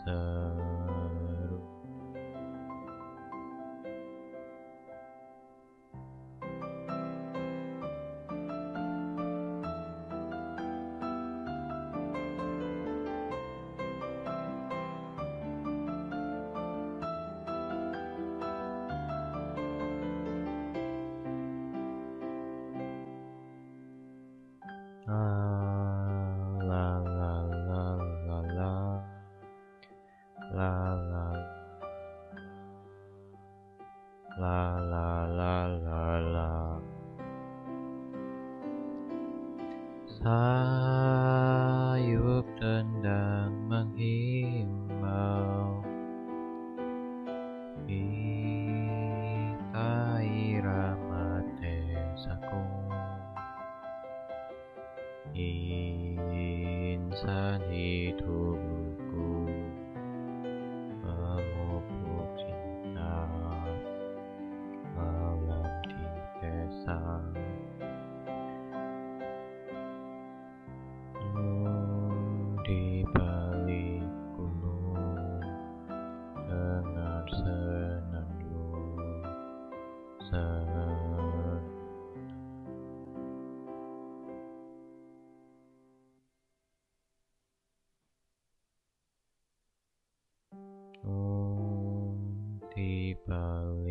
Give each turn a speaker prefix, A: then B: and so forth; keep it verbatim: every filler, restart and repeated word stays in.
A: seru. Ah, la la la la la la la la la la la la. Sayup tendang menghimbau, ika irama desaku. Insan hidupku memupuk cinta malam di desa. Hmm, di balik gunung dengan senandung senandung. Oh, di balik